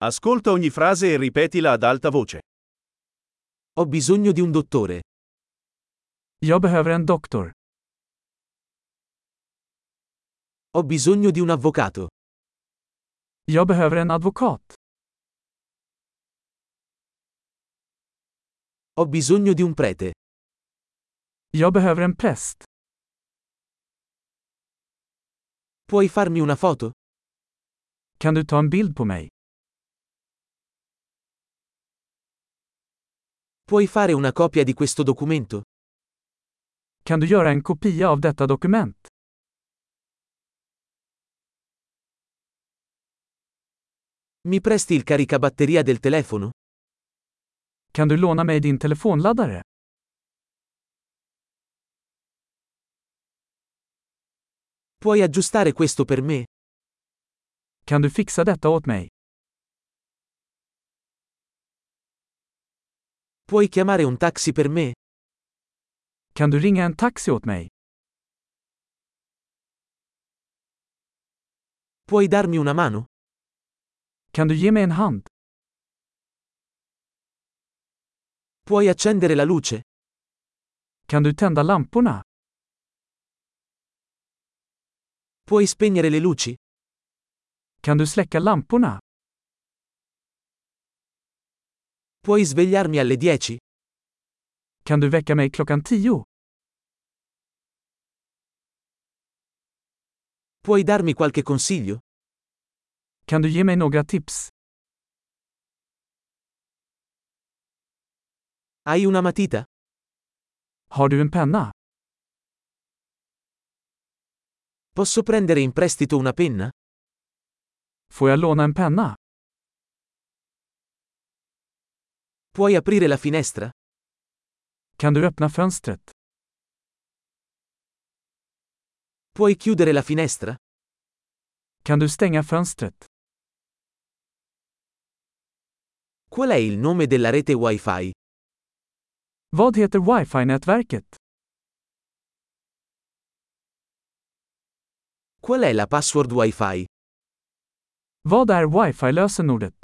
Ascolta ogni frase e ripetila ad alta voce. Ho bisogno di un dottore. Jag behöver en doktor. Ho bisogno di un avvocato. Jag behöver en advokat. Ho bisogno di un prete. Jag behöver en präst. Puoi farmi una foto? Kan du ta en bild på mig? Puoi fare una copia di questo documento? Kan du göra en kopia av detta dokument? Mi presti il caricabatteria del telefono? Kan du låna mig din telefonladdare? Puoi aggiustare questo per me? Kan du fixa detta åt mig? Puoi chiamare un taxi per me? Kan du ringa en taxi åt mig? Puoi darmi una mano? Kan du ge mig en hand? Puoi accendere la luce? Kan du tända lamporna? Puoi spegnere le luci? Kan du släcka lamporna? Puoi svegliarmi alle 10? Kan du väcka mig klockan 10? Puoi darmi qualche consiglio? Kan du ge mig några tips? Hai una matita? Har du en penna? Posso prendere in prestito una penna? Får jag låna en penna? Puoi aprire la finestra? Kan du öppna fönstret? Puoi chiudere la finestra? Kan du stänga fönstret? Qual è il nome della rete Wi-Fi? Vad heter Wi-Fi-nätverket? Qual è la password Wi-Fi? Vad är Wi-Fi-lösenordet?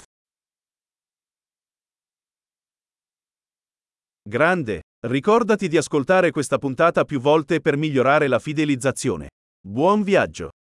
Grande! Ricordati di ascoltare questa puntata più volte per migliorare la fidelizzazione. Buon viaggio!